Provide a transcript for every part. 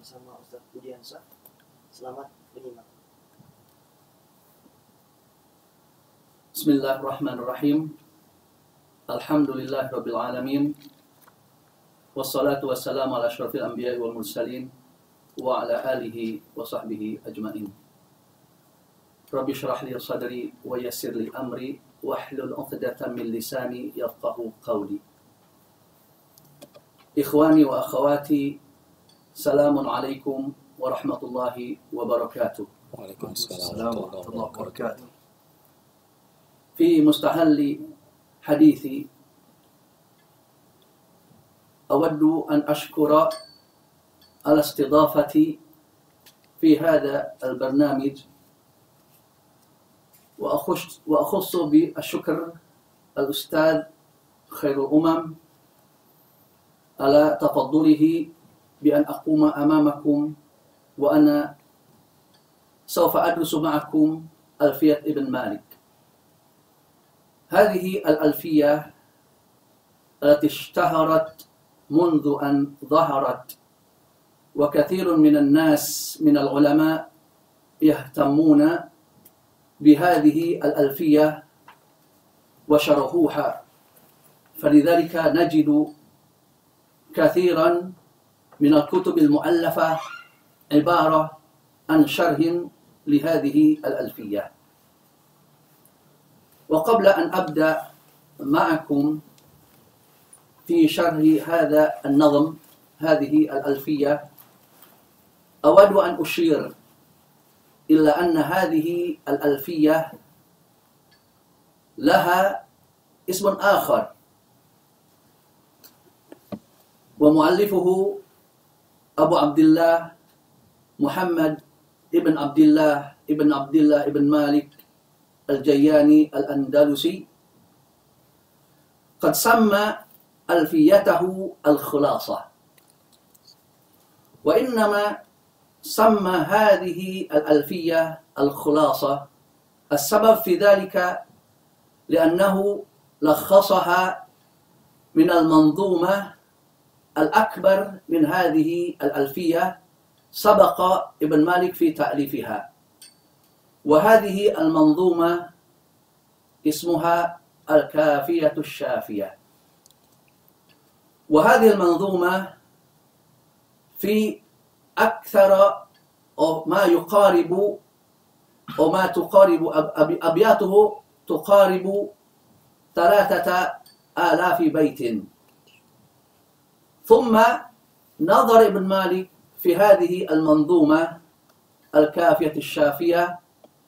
bersama Ustaz Budiansyah. Selamat menyimak. Bismillahirrahmanirrahim. Alhamdulillahirabbil alamin. Wassalatu wassalamu ala asyrafil anbiya'i wal mursalin wa ala alihi wa sahbihi ajmain. Rabbi shrah li sadri wa yassir li amri wahlul 'uqdatam min lisani yafqahu qawli. Ikhwani wa akhawati, salamun alaikum warahmatullahi wabarakatuh. Waalaikumsalam warahmatullahi wabarakatuh. في مستهل حديثي أود أن أشكر على استضافتي في هذا البرنامج، وأخص بالشكر الأستاذ خير الأمم على تفضله بأن أقوم أمامكم وأنا سوف أدرس معكم ألفية ابن مالك. هذه الألفية التي اشتهرت منذ أن ظهرت، وكثير من الناس من العلماء يهتمون بهذه الألفية وشرحوها، فلذلك نجد كثيرا من الكتب المؤلفة عبارة عن شرح لهذه الألفية. وقبل أن أبدأ معكم في شرح هذا النظم، هذه الألفية، أود أن أشير إلى أن هذه الألفية لها اسم آخر، ومؤلفه أبو عبد الله محمد ابن عبد الله ابن مالك الجياني الأندلسي، قد سمى ألفيته الخلاصة. وإنما سمى هذه الألفية الخلاصة السبب في ذلك لأنه لخصها من المنظومة الأكبر من هذه الألفية سبق ابن مالك في تأليفها، وهذه المنظومة اسمها الكافية الشافية. وهذه المنظومة في أكثر أو ما يقارب أو ما تقارب أبياته تقارب 3000 بيت. ثم نظر ابن مالك في هذه المنظومة الكافية الشافية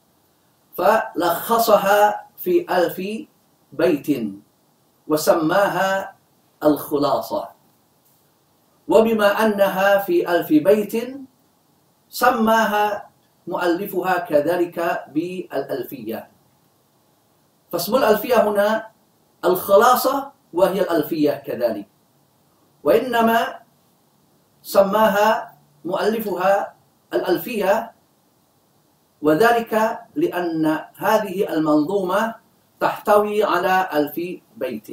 فلخصها في 1000 بيت وسماها الخلاصة. وبما أنها في 1000 بيت سماها مؤلفها كذلك بالألفية. فاسم الألفية هنا الخلاصة وهي الألفية كذلك، وإنما سماها مؤلفها الألفية وذلك لأن هذه المنظومة تحتوي على 1000 بيت.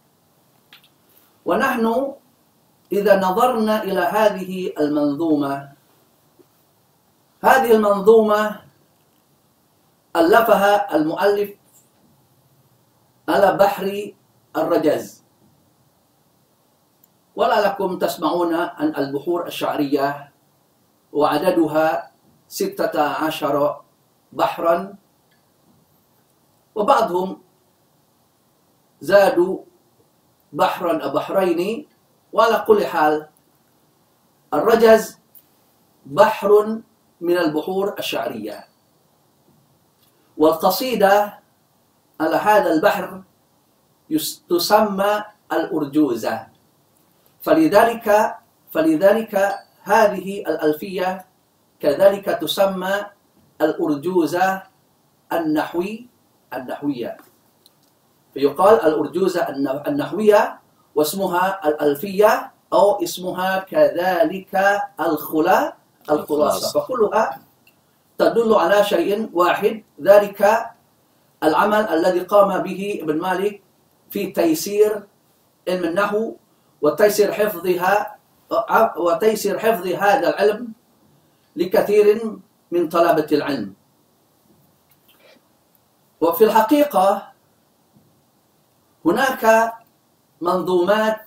ونحن إذا نظرنا إلى هذه المنظومة ألفها المؤلف على بحر الرجز. ولعلكم تسمعون عن البحور الشعرية، وعددها 16 بحرا، وبعضهم زادوا بحرا أو بحرين. وعلى كل حال الرجز بحر من البحور الشعرية، والقصيدة على هذا البحر تسمى الأرجوزة. فلذلك هذه الألفية كذلك تسمى الأرجوزة النحوية، فيقال الأرجوزة النحوية واسمها الألفية أو اسمها كذلك الخلاصة، فكلها تدل على شيء واحد، ذلك العمل الذي قام به ابن مالك في تيسير علم النحو وتيسير حفظها وتيسير حفظ هذا العلم لكثير من طلبة العلم. وفي الحقيقة هناك منظومات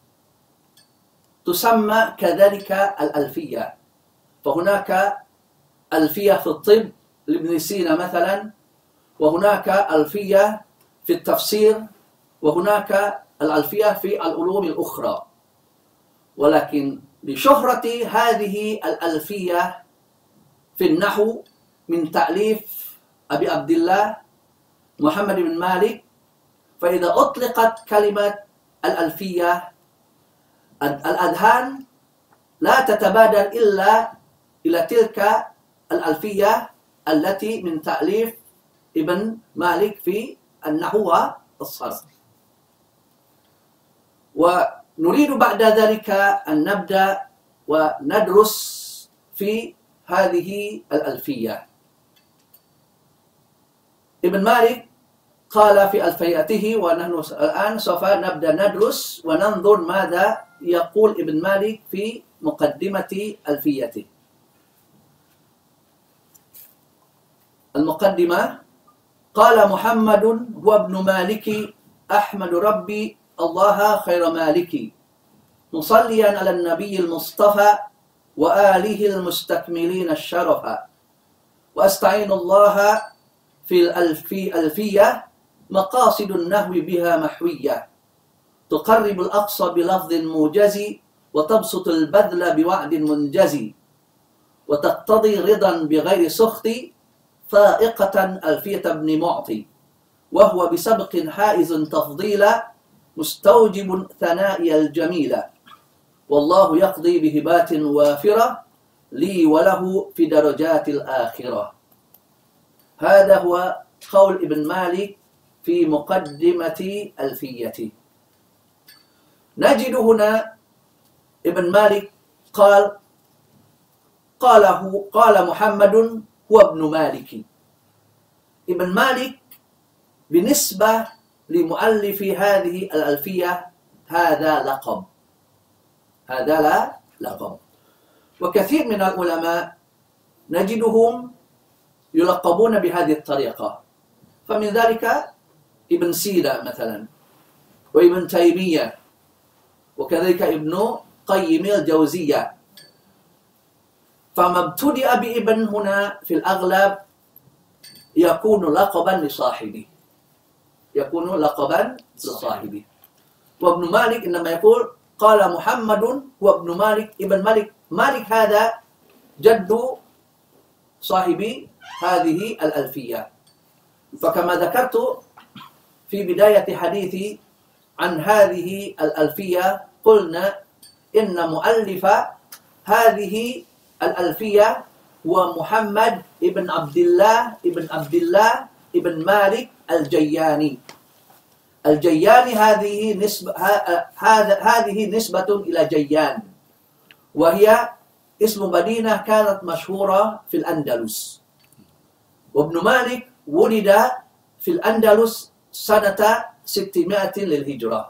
تسمى كذلك الألفية، فهناك ألفية في الطب لابن سينا مثلا، وهناك ألفية في التفسير، وهناك الألفية في العلوم الأخرى. ولكن لشهرة هذه الألفية في النحو من تأليف أبي عبد الله محمد بن مالك، فإذا أطلقت كلمة الألفية الأذهان لا تتبادر إلا إلى تلك الألفية التي من تأليف ابن مالك في النحو والصرف. ونريد بعد ذلك أن نبدأ وندرس في هذه الألفية. ابن مالك قال في ألفيته، ونحن الآن سوف نبدأ ندرس وننظر ماذا يقول ابن مالك في مقدمة ألفيته. المقدمة: قال محمد هو ابن مالك أحمد ربي الله خير مالك، مصليا على النبي المصطفى وآله المستكملين الشرف، وأستعين الله في ألفية مقاصد النحو بها محوية، تقرب الأقصى بلفظ موجز، وتبسط البذل بوعد منجز، وتقتضي رضا بغير سخط، فائقة ألفية ابن معطي، وهو بسبق حائز تفضيلا، مستوجب ثنائي الجميلة، والله يقضي بهبات وافرة، لي وله في درجات الآخرة. هذا هو قول ابن مالك في مقدمة ألفيته. نجد هنا ابن مالك قال محمد هو ابن مالك. ابن مالك بالنسبة لمؤلف هذه الألفية هذا لقب، هذا لا لقب. وكثير من العلماء نجدهم يلقبون بهذه الطريقة، فمن ذلك ابن سينا مثلا، وابن تيمية، وكذلك ابن قيم الجوزية. فما ابتدأ بابن هنا في الأغلب يكون لقبا لصاحبه، يكون لقبا لصاحبه. وابن مالك إنما يقول قال محمد هو ابن مالك، ابن مالك، مالك هذا جد صاحب هذه الألفية. فكما ذكرت في بداية حديثي عن هذه الألفية، قلنا إن مؤلف هذه الألفية هو محمد ابن عبد الله ابن مالك الجياني. الجياني هذه نسبة إلى جيان، وهي اسم مدينة كانت مشهورة في الأندلس. وابن مالك ولد في الأندلس سنة 600 للهجرة،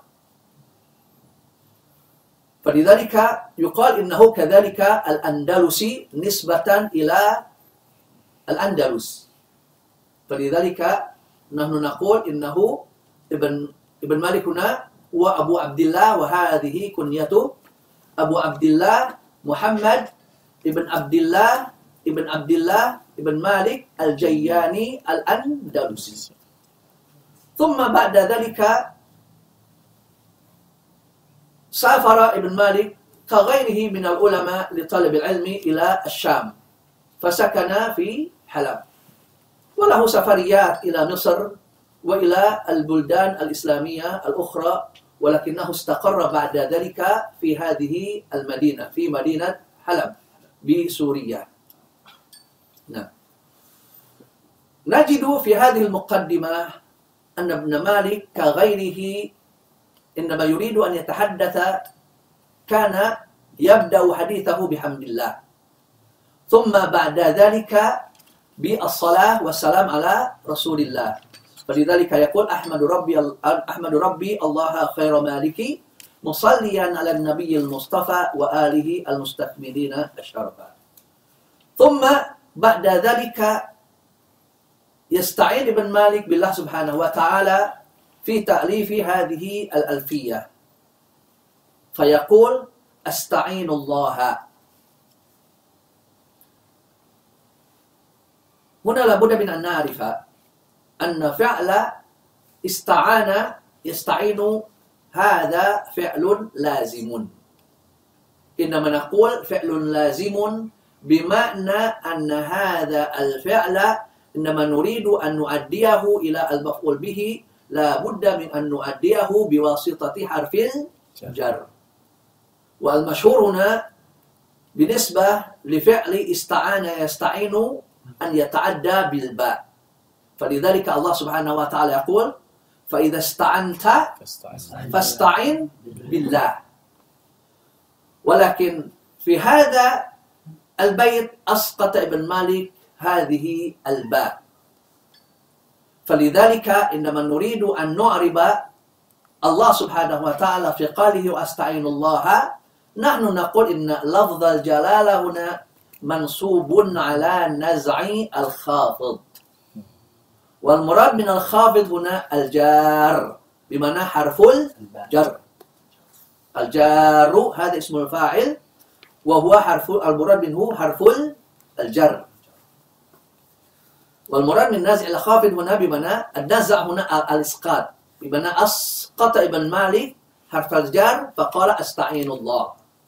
فلذلك يقال إنه كذلك الأندلسي نسبة إلى الأندلس. فلذلك نحن نقول إنه ابن مالك هنا هو أبو عبد الله، وهذه كنيته أبو عبد الله محمد ابن عبد الله ابن مالك الجياني الأندلسي. ثم بعد ذلك سافر ابن مالك كغيره من العلماء لطلب العلم إلى الشام، فسكن في حلب، وله سفريات إلى مصر وإلى البلدان الإسلامية الأخرى، ولكنه استقر بعد ذلك في هذه المدينة، في مدينة حلب بسوريا. نعم. نجد في هذه المقدمة أن ابن مالك كغيره إنما يريد أن يتحدث كان يبدأ حديثه بحمد الله، ثم بعد ذلك بالصلاة والسلام على رسول الله. فلذلك يقول أحمد ربي الله خير مالك، مصليا على النبي المصطفى وآله المستكملين الشرفا. ثم بعد ذلك يستعين ابن مالك بالله سبحانه وتعالى في تأليف هذه الألفية فيقول أستعين الله. هنا لابد من أن نعرف أن فعل استعان يستعين هذا فعل لازم. إنما نقول فعل لازم بمعنى أن هذا الفعل إنما نريد أن نؤديه إلى المفعول به لا بد من أن نؤديه بواسطة حرف الجر. والمشهور هنا بالنسبة لفعل استعان يستعين أن يتعدى بالباء. فلذلك الله سبحانه وتعالى يقول فإذا استعنت فاستعن بالله. ولكن في هذا البيت أسقط ابن مالك هذه الباء. فلذلك إنما نريد أن نعرب الله سبحانه وتعالى في قوله وأستعين الله، نحن نقول إن لفظ الجلالة هنا منصوب على نزع الخافض، والمراد من الخافض هنا الجار بمعنى حرف الجر. الجار هذا اسم الفاعل وهو حرف المراد منه حرف الجر. والمراد من نزع الخافض هنا بمعنى النزع هنا الإسقاط، بمعنى أسقط ابن مالك حرف الجر فقال أستعين الله.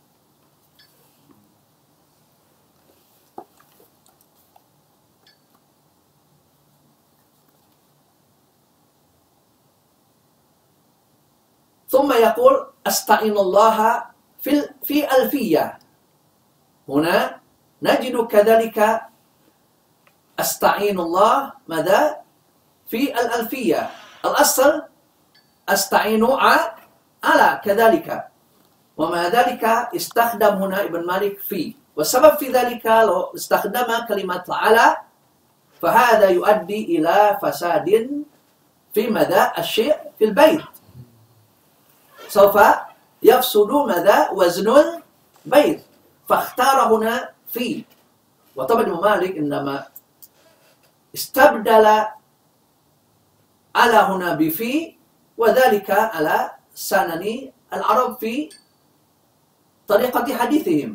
ثم يقول أستعين الله في ألفية. هنا نجد كذلك أستعين الله ماذا؟ في الألفية. الأصل أستعين على كذلك، ومع ذلك استخدم هنا ابن مالك في، والسبب في ذلك لو استخدم كلمة على فهذا يؤدي إلى فساد في ماذا؟ الشيء في البيت، سوف يفسد ماذا؟ وزن البيت، فاختار هنا في. وطبعا ابن مالك إنما استبدل على هنا بفي، وذلك على سنن العرب في طريقة حديثهم.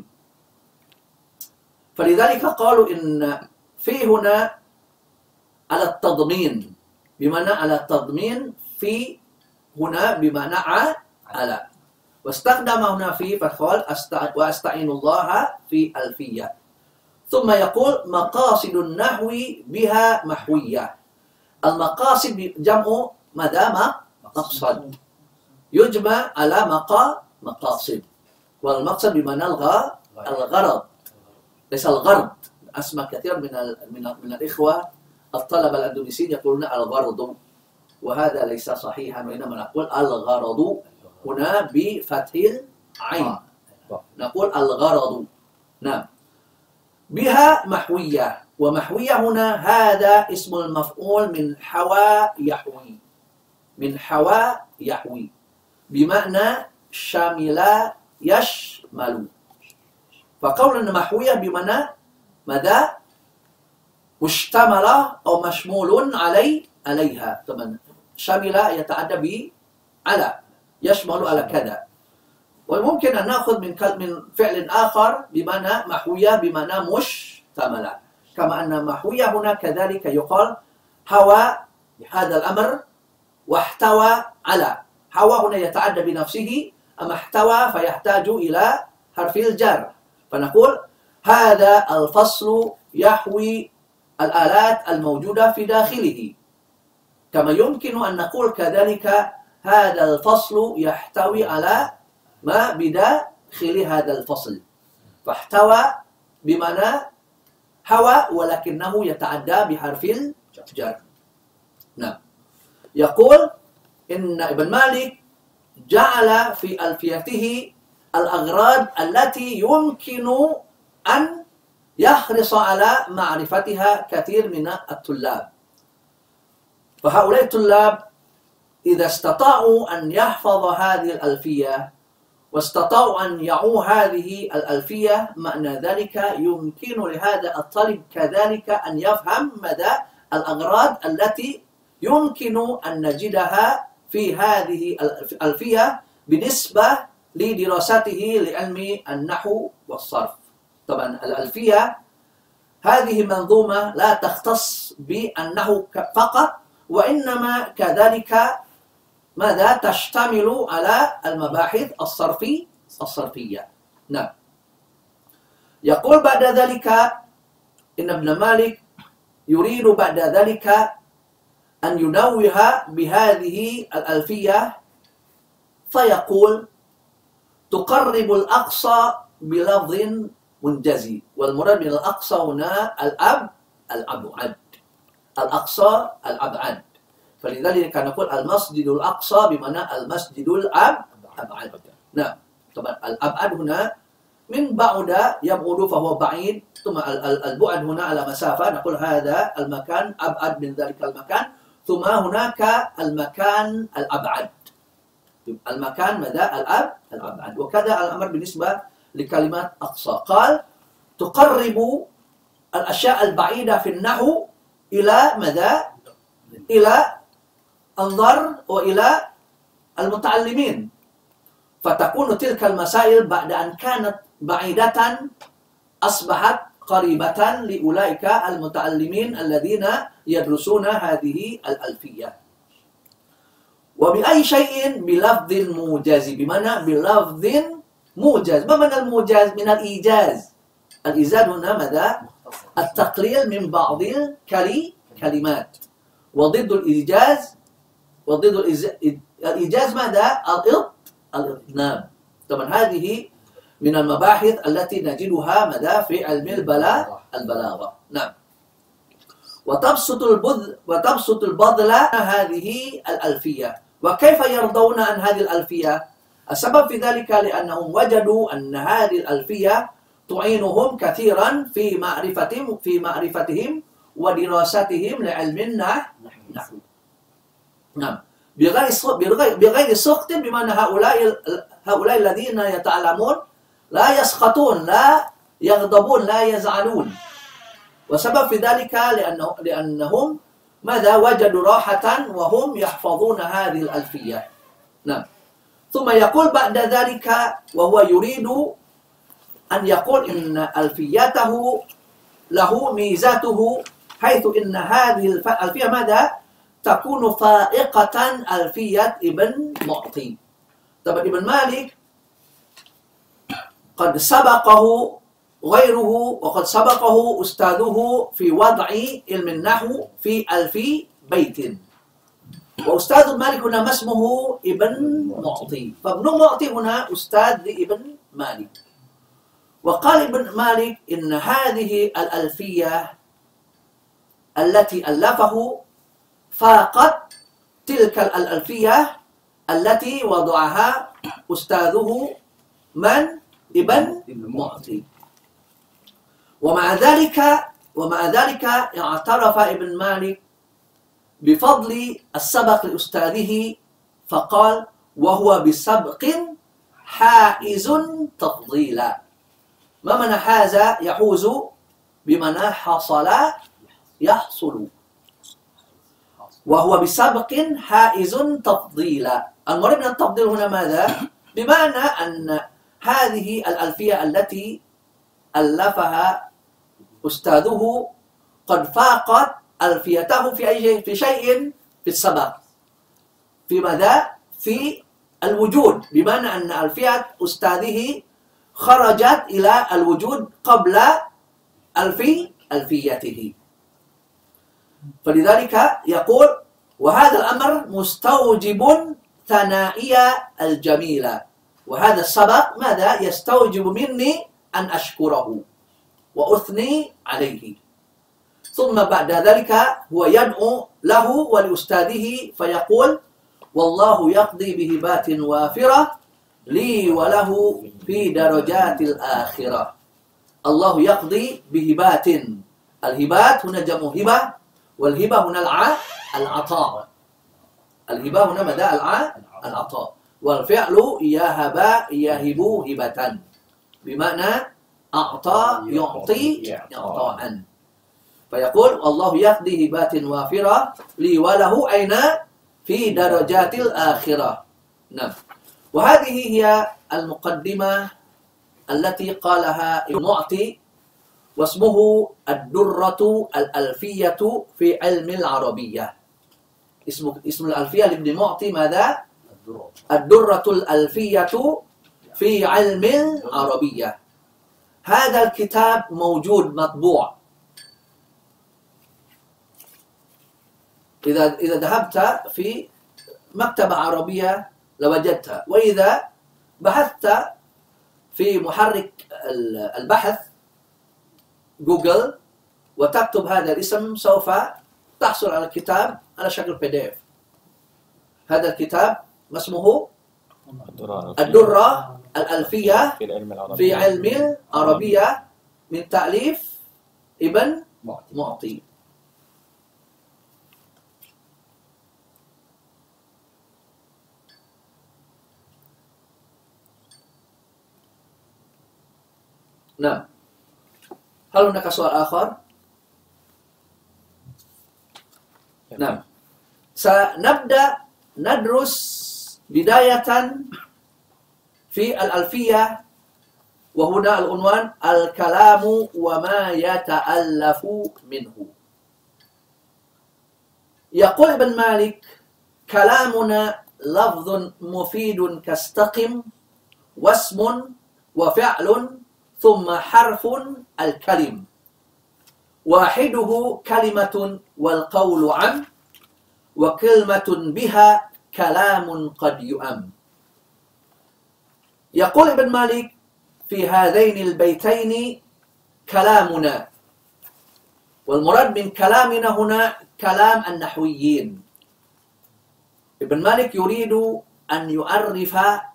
فلذلك قالوا إن في هنا على التضمين، بمعنى على التضمين، في هنا بمعنى على، واستخدم هنا في فقال وأستعين الله في ألفية. ثم يقول مقاصد النحو بها محوية. المقاصد جمع ماذا؟ مقصد، يجمع على مقاصد، والمقصد بمعنى الغرض ليس الغرض. أسمع كثير من الإخوة الطلبة الأندونيسيين يقولون الغرض، وهذا ليس صحيحا، وإنما نقول الغرض هنا بفتح العين، نقول الغرض. نعم. بها محوية، ومحوية هنا هذا اسم المفعول من حوى يحوي، من حوى يحوي بمعنى شامل يشمل. فقولنا محوية بمعنى ماذا؟ مشتملة أو مشمول عليها. طبعا شامل يتعدى على، يشمل على كذا. وممكن أن نأخذ من فعل آخر بمعنى محوية بمعنى مشتملة، كما أن محوية هنا كذلك يقال حوى هذا الأمر واحتوى على. حوى هنا يتعدى بنفسه، أما احتوى فيحتاج إلى حرف الجر، فنقول هذا الفصل يحوي الآلات الموجودة في داخله. كما يمكن أن نقول كذلك هذا الفصل يحتوي على ما بداخل هذا الفصل، فاحتوى بمعنى حوى ولكنه يتعدى بحرف الجر. نعم. يقول إن ابن مالك جعل في ألفيته الأغراض التي يمكن أن يحرص على معرفتها كثير من الطلاب. فهؤلاء الطلاب إذا استطاعوا أن يحفظ هذه الألفية واستطاعوا أن يعوا هذه الألفية. معنى ذلك يمكن لهذا الطالب كذلك أن يفهم مدى الأغراض التي يمكن أن نجدها في هذه الألفية بالنسبة لدراسته لعلم النحو والصرف. طبعا الألفية هذه منظومة لا تختص بالنحو فقط، وإنما كذلك ماذا تشتمل على المباحث الصرفية. نعم. يقول بعد ذلك إن ابن مالك يريد بعد ذلك أن ينوه بهذه الألفية فيقول: تقرب الأقصى بلفظ منجزي. والمراد من الأقصى هنا الأبعد. الأقصى الأبعد. فلذلك نقول المسجد الأقصى بمعنى المسجد الأبعد. نعم. طبعا الأبعد هنا من بعد يبعد فهو بعيد، ثم البعد هنا على مسافة، نقول هذا المكان أبعد من ذلك المكان، ثم هناك المكان الأبعد. المكان ماذا؟ الأبعد. وكذا الأمر بالنسبة لكلمات أقصى. قال تقرب الأشياء البعيدة في النحو إلى ماذا؟ إلى أنظر وإلى المتعلمين، فتكون تلك المسائل بعد أن كانت بعيدة أصبحت قريبة لأولئك المتعلمين الذين يدرسون هذه الألفية. وبأي شيء؟ بلفظ موجز، بمعنى بلفظ موجز. ما معنى الموجز؟ من الإيجاز. الإيجاز هنا ماذا؟ التقليل من بعض الكلمات. وضد الإيجاز ماذا؟ الإطناب. طبعا هذه من المباحث التي نجدها ماذا؟ في علم البلاغة. نعم. وتبسط البذل هذه الألفية. وكيف يرضون عن هذه الألفية؟ السبب في ذلك لأنهم وجدوا أن هذه الألفية تعينهم كثيرا في معرفتهم ودراستهم لعلم النحو. نعم. بغير سخط، بمعنى هؤلاء الذين يتعلمون لا يسخطون، لا يغضبون، لا يزعلون. وسبب في ذلك لأنهم ماذا؟ وجدوا راحة وهم يحفظون هذه الألفية. نعم. ثم يقول بعد ذلك وهو يريد أن يقول إن ألفيته له ميزاته، حيث إن هذه الألفية ماذا؟ تكون فائقة ألفية ابن معطي. طبعا ابن مالك قد سبقه غيره وقد سبقه أستاذه في وضع علم النحو في 1000 بيت. وأستاذ مالك هنا ما اسمه؟ ابن معطي. فابن معطي هنا أستاذ لابن مالك. وقال ابن مالك إن هذه الألفية التي ألفه فاقت تلك الألفية التي وضعها أستاذه من؟ ابن معطي. ومع ذلك اعترف ابن مالك بفضل السبق لأستاذه، فقال وهو بسبق حائز تفضيلا. ما معنى حاز؟ يحوز، بمعنى حصل يحصل. وهو بسبق حائز تفضيلا. المراد من التفضيل هنا ماذا؟ بمعنى أن هذه الألفية التي ألفها أستاذه قد فاقت ألفيته في شيء في السبق. في ماذا؟ في الوجود، بمعنى أن ألفية أستاذه خرجت إلى الوجود قبل ألفيته. فلذلك يقول وهذا الأمر مستوجب ثنائية الجميلة. وهذا السبق ماذا؟ يستوجب مني أن أشكره وأثني عليه. ثم بعد ذلك هو يدعو له ولأستاذه فيقول والله يقضي بهبات وافرة لي وله في درجات الآخرة. الله يقضي بهبات. الهبات هنا جمع هبة، والهبة هنا العطاء. الهبة هنا ماذا؟ العطاء. wal fi'lu yahaba yahibu hibatan. Bimana a'ta yu'ti i'ta'an. Fayaqul Allah yahdi hibatin wafira li walahu aina fi darajatil akhirah. Nah, wa hadhihi hiya al-muqaddimah allati qalaha Ibnu Mu'ti wasmuhu ad-durratu al-alfiyatu fi ilmi al-arabiyyah. Ismu al-alfiyah Ibnu Mu'ti madha? Ad-durratu al-alfiyatu fi ilmi al-arabiyyah. Hadha al-kitab mawjud matbu'. إذا ذهبت في مكتبة عربية لوجدتها، وإذا بحثت في محرك البحث جوجل وتكتب هذا الاسم سوف تحصل على الكتاب على شكل PDF. هذا الكتاب ما اسمه؟ الدرة الألفية في علم العربية من تأليف ابن معطي. Nah, hal هناك سؤال آخر؟ نعم، سنبدأ ندرس بداية في الألفية، وهنا العنوان الكلام وما يتألف منه. يقول ابن مالك: كلامنا لفظ مفيد كاستقم واسم وفعل ثم حرف الكلم واحده كلمة والقول عم وكلمة بها كلام قد يؤم. يقول ابن مالك في هذين البيتين كلامنا، والمراد من كلامنا هنا كلام النحويين. ابن مالك يريد أن يعرف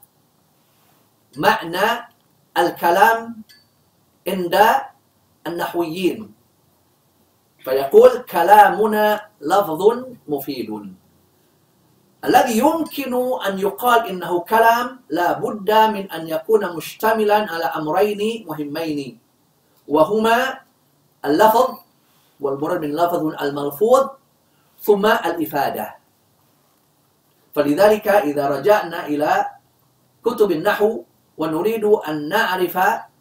معنى الكلام عند النحويين، فيقول كلامنا لفظ مفيد. الذي يمكن أن يقال إنه كلام لا بد من أن يكون مشتملا على أمرين مهمين، وهما اللفظ، والمراد من اللفظ الملفوظ، ثم الإفادة. فلذلك إذا رجعنا إلى كتب النحو ونريد أن نعرف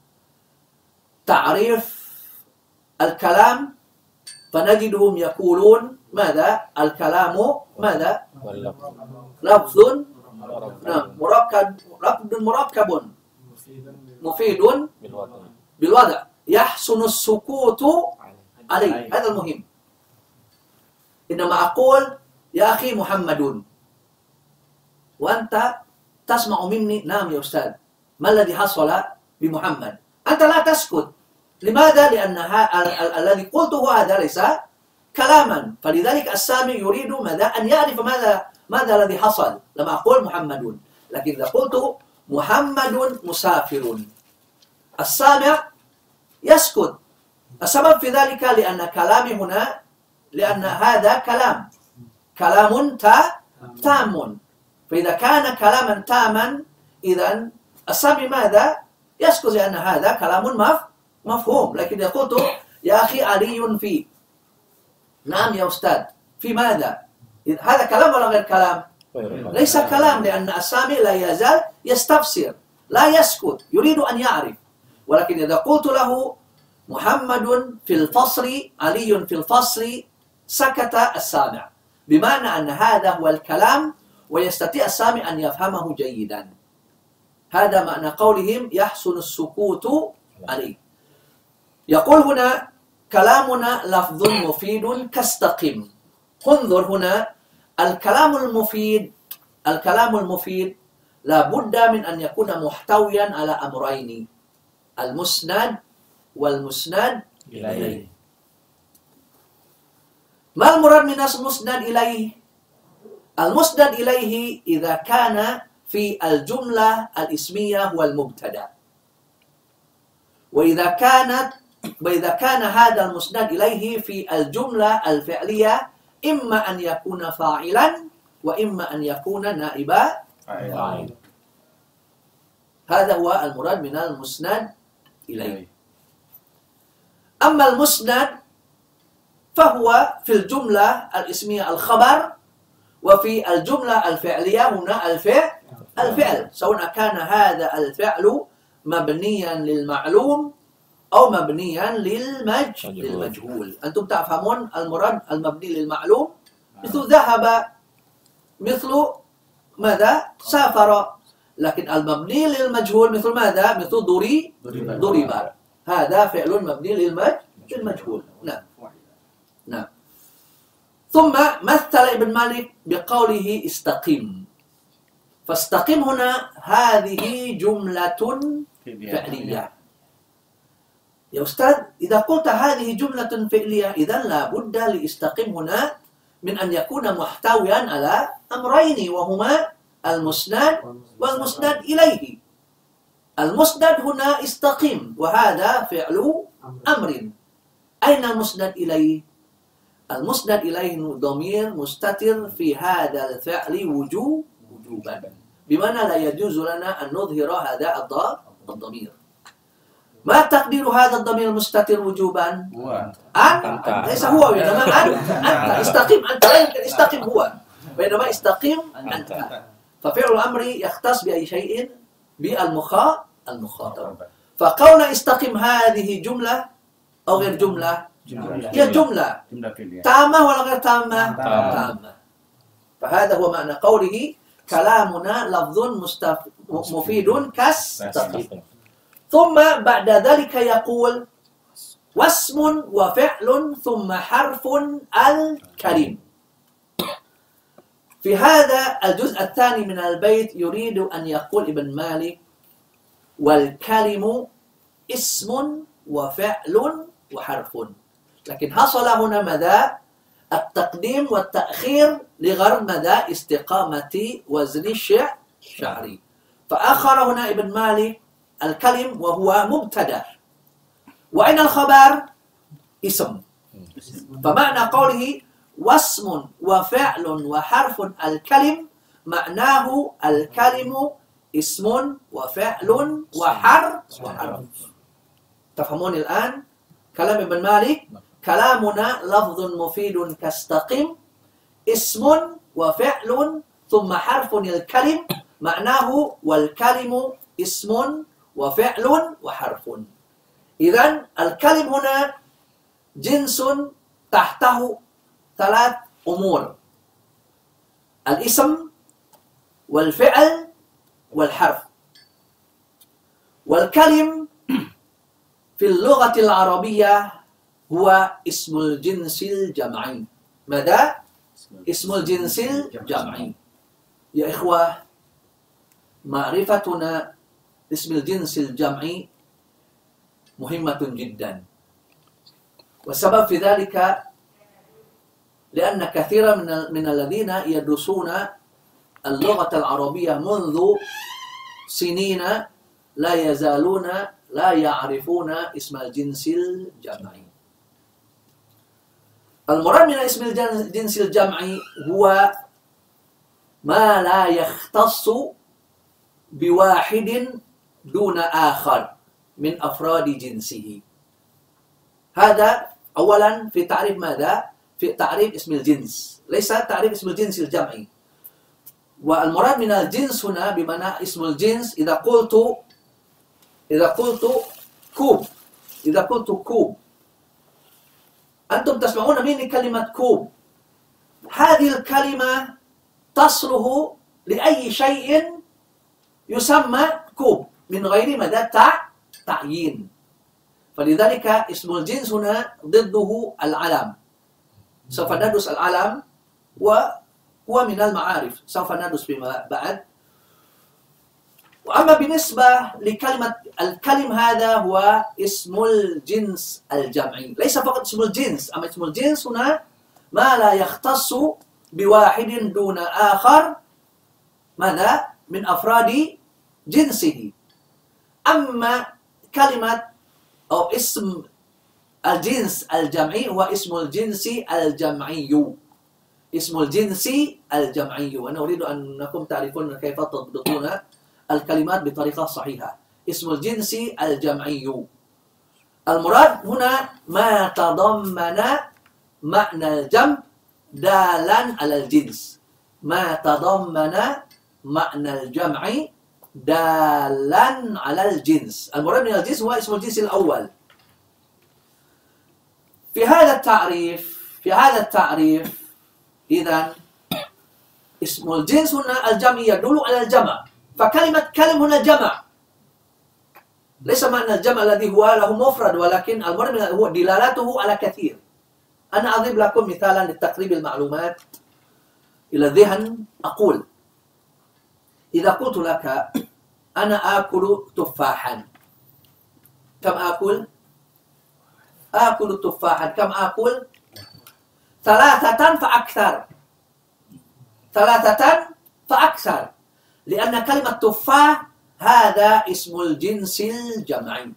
تعريف الكلام فنجدهم يقولون ماذا؟ الكلام ماذا؟ لفظ مركب مفيد بالوضع يحسن السكوت عليه. هذا المهم. إنما أقول يا أخي محمد وأنت تسمع مني نعم يا أستاذ، ما الذي حصل بمحمد؟ أنت لا تسكت. لماذا؟ لأن الذي قلته هذا ليس كلاما، فلذلك السامع يريد ماذا؟ أن يعرف ماذا الذي حصل لما أقول محمد. لكن إذا قلت محمد مسافر السامع يسكت. السبب في ذلك لأن كلامي هنا، لأن هذا كلام تام. فإذا كان كلاما تاما إذن السامع ماذا؟ يسكت، لأن هذا كلام مفهوم. لكن إذا قلت يا أخي علي في، نعم يا أستاذ، في ماذا؟ هذا كلام ولا غير كلام؟ ليس كلام، لأن السامع لا يزال يستفسر، لا يسكت، يريد أن يعرف. ولكن إذا قلت له محمد في الفصل، علي في الفصل، سكت السامع، بمعنى أن هذا هو الكلام ويستطيع السامع أن يفهمه جيدا. هذا معنى قولهم يحسن السكوت عليه. يقول هنا كلامنا لفظ مفيد كاستقم. انظر هنا الكلام المفيد لا بد من أن يكون محتويا على أمرين: المسند والمسند إليه. ما المراد من المسند إليه؟ المسند إليه إذا كان في الجملة الاسمية هو المبتدأ، وإذا كان هذا المسند إليه في الجملة الفعلية إما أن يكون فاعلا وإما أن يكون نائب عين. هذا هو المراد من المسند إليه. أما المسند فهو في الجملة الاسمية الخبر، وفي الجملة الفعلية هنا الفعل، سواء كان هذا الفعل مبنيا للمعلوم أو مبنيا للمجهول. أنتم تفهمون المراد المبني للمعلوم؟ مثل ذهب، مثل ماذا؟ سافر. لكن المبني للمجهول مثل ماذا؟ مثل ضرب. هذا فعل مبني للمجهول. نعم. نعم. ثم مثل ابن مالك بقوله استقم. فاستقم هنا هذه جملة فعلية. يا أستاذ، إذا قلت هذه جملة فعلية إذن لا بد لاستقم هنا من أن يكون محتويا على أمرين، وهما المسند والمسند إليه. المسند هنا استقم، وهذا فعل أمر. أين المسند إليه؟ المسند إليه ضمير مستتر في هذا الفعل وجوبا، بمعنى لا يجوز لنا أن نظهر هذا الضمير. ما تقدير هذا الضمير المستتر وجوبا؟ أنت. ليس هو، وإنما أنت. استقم أنت، لا يمكن استقم هو، وإنما استقم أنت. ففعل الأمر يختص بأي شيء؟ بالمخاطب. فقولنا استقم هذه جملة أو غير جملة؟ هي جملة تامة ولا غير تامة؟ تامة. فهذا هو معنى قوله كلامنا لفظ مفيد كاستقم. ثم بعد ذلك يقول واسم وفعل ثم حرف الكلم. في هذا الجزء الثاني من البيت يريد أن يقول ابن مالك والكلم اسم وفعل وحرف، لكن حصل هنا ماذا؟ التقديم والتأخير لغرض ماذا؟ استقامة وزن الشعري. فأخر هنا ابن مالك الكلم وهو مبتدأ، وأين الخبر؟ اسم. فمعنى قوله واسم وفعل وحرف الكلم معناه الكلم اسم وفعل وحرف. تفهمون الآن كلام ابن مالك؟ كلامنا لفظ مفيد كاستقم، اسم وفعل ثم حرف الكلم، معناه والكلم اسم وفعل وحرف. إذن الكلم هنا جنس تحته ثلاث أمور: الاسم والفعل والحرف. والكلم في اللغة العربية هو اسم الجنس الجمعي. ماذا؟ اسم الجنس الجمعي. يا إخوة، معرفتنا اسم الجنس الجمعي مهمة جدا، والسبب في ذلك لأن كثيرا من الذين يدرسون اللغة العربية منذ سنين لا يزالون لا يعرفون اسم الجنس الجمعي. المراد من اسم الجنس الجمعي هو ما لا يختص بواحد دون آخر من أفراد جنسه. هذا أولا في تعريف ماذا؟ في تعريف اسم الجنس، ليس تعريف اسم الجنس الجمعي. والمراد من الجنس هنا بمعنى اسم الجنس. إذا قلت كوب، أنتم تسمعون مني كلمة كوب. هذه الكلمة تصله لأي شيء يسمى كوب من غير مدى تعيين. فلذلك اسم الجنس هنا ضده العلم. سوف ندرس العلم وهو من المعارف، سوف ندرس فيما بعد. وأما بالنسبة لكلمة الكلم، هذا هو اسم الجنس الجمعي، ليس فقط اسم الجنس. أما اسم الجنس هنا ما لا يختص بواحد دون آخر ماذا؟ من أفراد جنسه. أما كلمة أو اسم الجنس الجمعي هو اسم الجنس الجمعي، اسم الجنس الجمعي. وأنا أريد أنكم تعرفون كيف تضبطون الكلمات بطريقة صحيحة. اسم الجنس الجمعي المراد هنا ما تضمن معنى الجمع دالا على الجنس. ما تضمن معنى الجمع دالا على الجنس. المراد من الجنس هو اسم الجنس الأول. في هذا التعريف إذن اسم الجنس هنا الجمع يدل على الجمع. فكلمة كلم هنا جمع، ليس معنى الجمع الذي هو له مفرد، ولكن المراد هو دلالته على كثير. أنا أضرب لكم مثالا لتقريب المعلومات إلى الذهن. أقول إذا قلت لك أنا آكل تفاحا، كم آكل؟ آكل تفاحا. كم آكل؟ 3 فأكثر. 3 فأكثر، لأن كلمة تفاح هذا اسم الجنس الجمعي.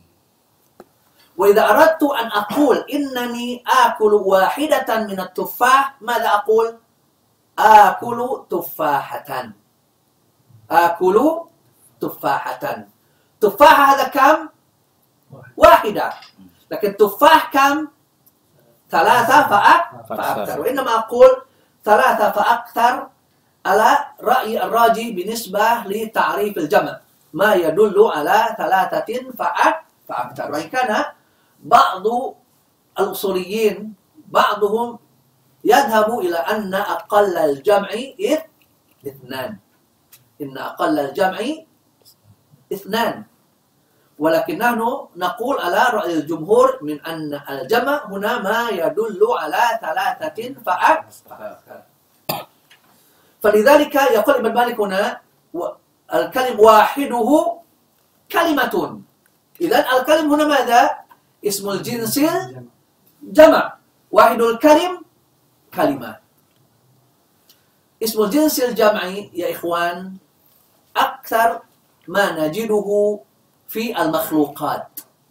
وإذا أردت أن أقول إنني آكل واحدة من التفاح، ماذا أقول؟ آكل تفاحة. آكل تفاحة. تفاحة هذا كم؟ واحدة. لكن تفاح كم؟ 3 فأكثر. وإنما أقول 3 فأكثر على رأي الراجي بالنسبة لتعريف الجمع، ما يدل على 3 فأكثر. وإن كان بعض الأصوليين بعضهم يذهب إلى أن أقل الجمع 2. إن أقل الجمع 2. ولكن نحن نقول على رأي الجمهور من أن الجمع هنا ما يدل على 3 فأكثر. فلذلك يقول ابن مالك هنا الكلم واحده كلمة. إذن الكلم هنا ماذا؟ اسم الجنس الجمع. واحد الكلم كلمة. اسم الجنس الجمعي يا إخوان أكثر ما نجده في المخلوقات،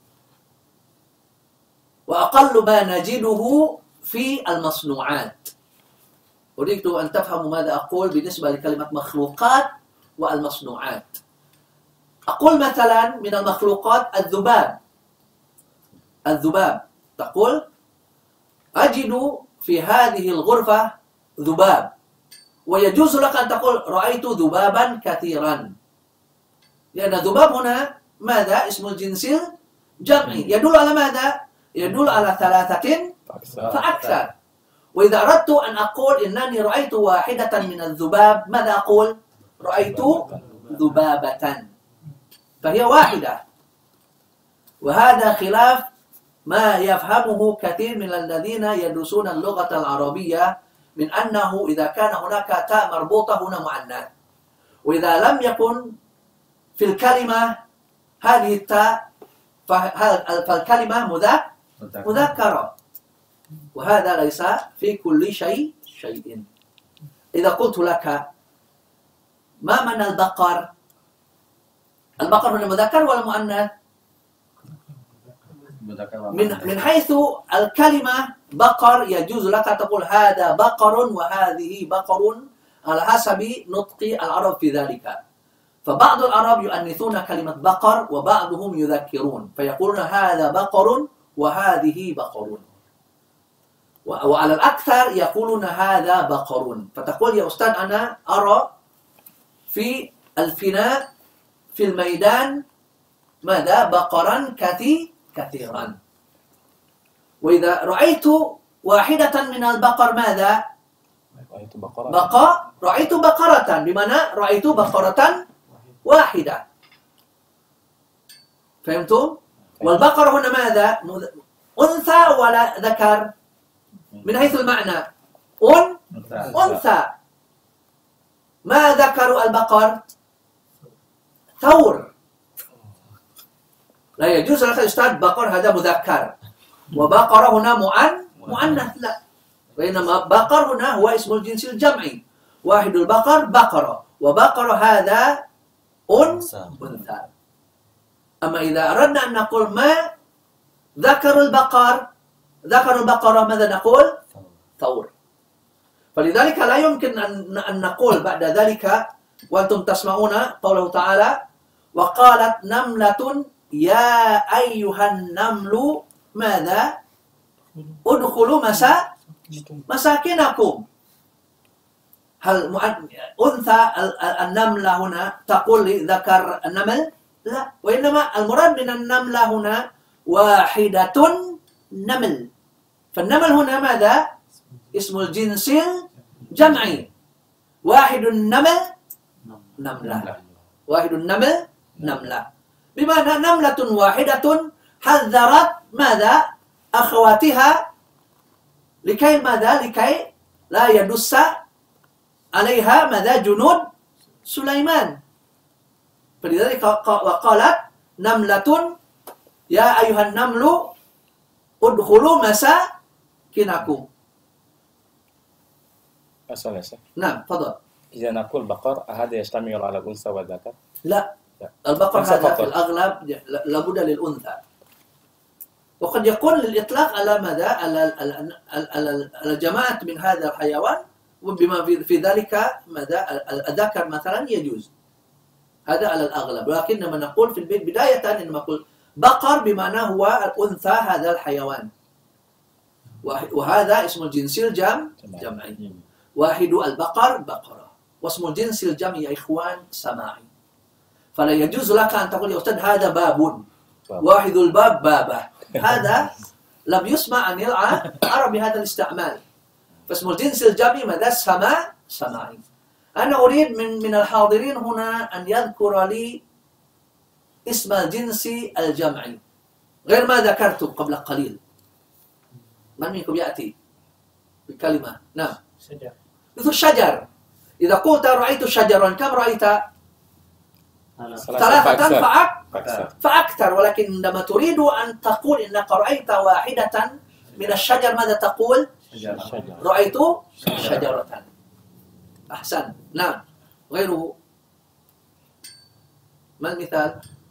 وأقل ما نجده في المصنوعات. أريد أن تفهموا ماذا أقول بالنسبة لكلمة مخلوقات والمصنوعات. أقول مثلا من المخلوقات الذباب. الذباب تقول أجد في هذه الغرفة ذباب، ويجوز لك أن تقول رأيت ذبابا كثيرا، لأن الذباب هنا ماذا؟ اسم الجنس الجمعي. يدل على ماذا؟ يدل على 3 فأكثر. وإذا أردت أن أقول إنني رأيت واحدة من الذباب، ماذا أقول؟ رأيت ذبابة، فهي واحدة. وهذا خلاف ما يفهمه كثير من الذين يدرسون اللغة العربية من أنه إذا كان هناك تاء مربوطة هنا مؤنث، وإذا لم يكن في الكلمة هذه التاء فالكلمة مذكرة. وهذا ليس في كل شيء. إذا قلت لك ما معنى البقر؟ البقر هنا مذكر ولا مؤنث؟ من حيث الكلمة بقر يجوز لك تقول هذا بقر وهذه بقر على حسب نطق العرب في ذلك. فبعض العرب يؤنثون كلمة بقر وبعضهم يذكرون فيقولون هذا بقر وهذه بقر، وعلى الأكثر يقولون هذا بقر. فتقول يا أستاذ أنا أرى في الفناء في الميدان ماذا؟ بقرا كثيرا. وإذا رأيت واحدة من البقر ماذا؟ رأيت بقرة، بمعنى رأيت بقرة واحدة. فهمتم؟ والبقرة هنا ماذا؟ أنثى ولا ذكر؟ من حيث المعنى أنثى. ما ذكر البقر؟ ثور. لا يجوز لك أستاذ بقر هذا مذكر وبقرة هنا مؤنث، لا. وإنما بقر هنا هو اسم الجنس الجمعي. واحد البقر بقرة، وبقرة هذا أنثى. أما إذا أردنا أن نقول ما ذكر البقرة ماذا نقول؟ ثور. فلذلك لا يمكن أن نقول بعد ذلك وأنتم تسمعون قوله تعالى وقالت نملة يا أيها النمل ماذا ادخلوا مساكنكم. هل أنثى النملة هنا تقول لذكر النمل؟ لا، وإنما المراد من النملة هنا واحدة نمل. فالنمل هنا ماذا؟ اسم الجنس الجمعي. واحد النمل نملة، واحد النمل نملة، بمعنى نملة واحدة حذرت ماذا؟ أخواتها لكي ماذا؟ لكي لا يدس عليها ماذا؟ جنود سليمان. فلذلك وقالت نملة يا أيها النمل ادخلوا مساكنكم. أسأل يا شيخ. نعم تفضل. إذا نقول بقر هذا يشتمل على الأنثى والذكر؟ لا، البقر هذا في الأغلب لابد للأنثى، وقد يكون للإطلاق على ماذا؟ على جماعة من هذا الحيوان، وبما في ذلك ماذا؟ الذكر مثلا يجوز، هذا على الأغلب. ولكن لما نقول في البيت بداية إنما نقول بقر بمعنى هو الأنثى هذا الحيوان، وهذا اسم الجنس الجمعي. واحد البقر بقرة، واسم الجنس الجمعي يا إخوان سماعي. فلا يجوز لك أن تقول يا أستاذ هذا باب، واحد الباب بابه، هذا لم يسمع عن العرب بهذا الاستعمال. فاسم الجنس الجمعي ماذا؟ سماعي. أنا أريد من الحاضرين هنا أن يذكر لي اسم الجنس الجمعي غير ما ذكرته قبل قليل. من منكم يأتي بكلمة؟ نعم. شجر. مثل الشجر. إذا قلت رأيت شجرا كم رأيت؟ ثلاثة فأكثر. ولكن عندما تريد أن تقول إنك رأيت واحدة من الشجر ماذا تقول؟ رأيت شجرة. أحسن. نعم. غيره. ما المثال؟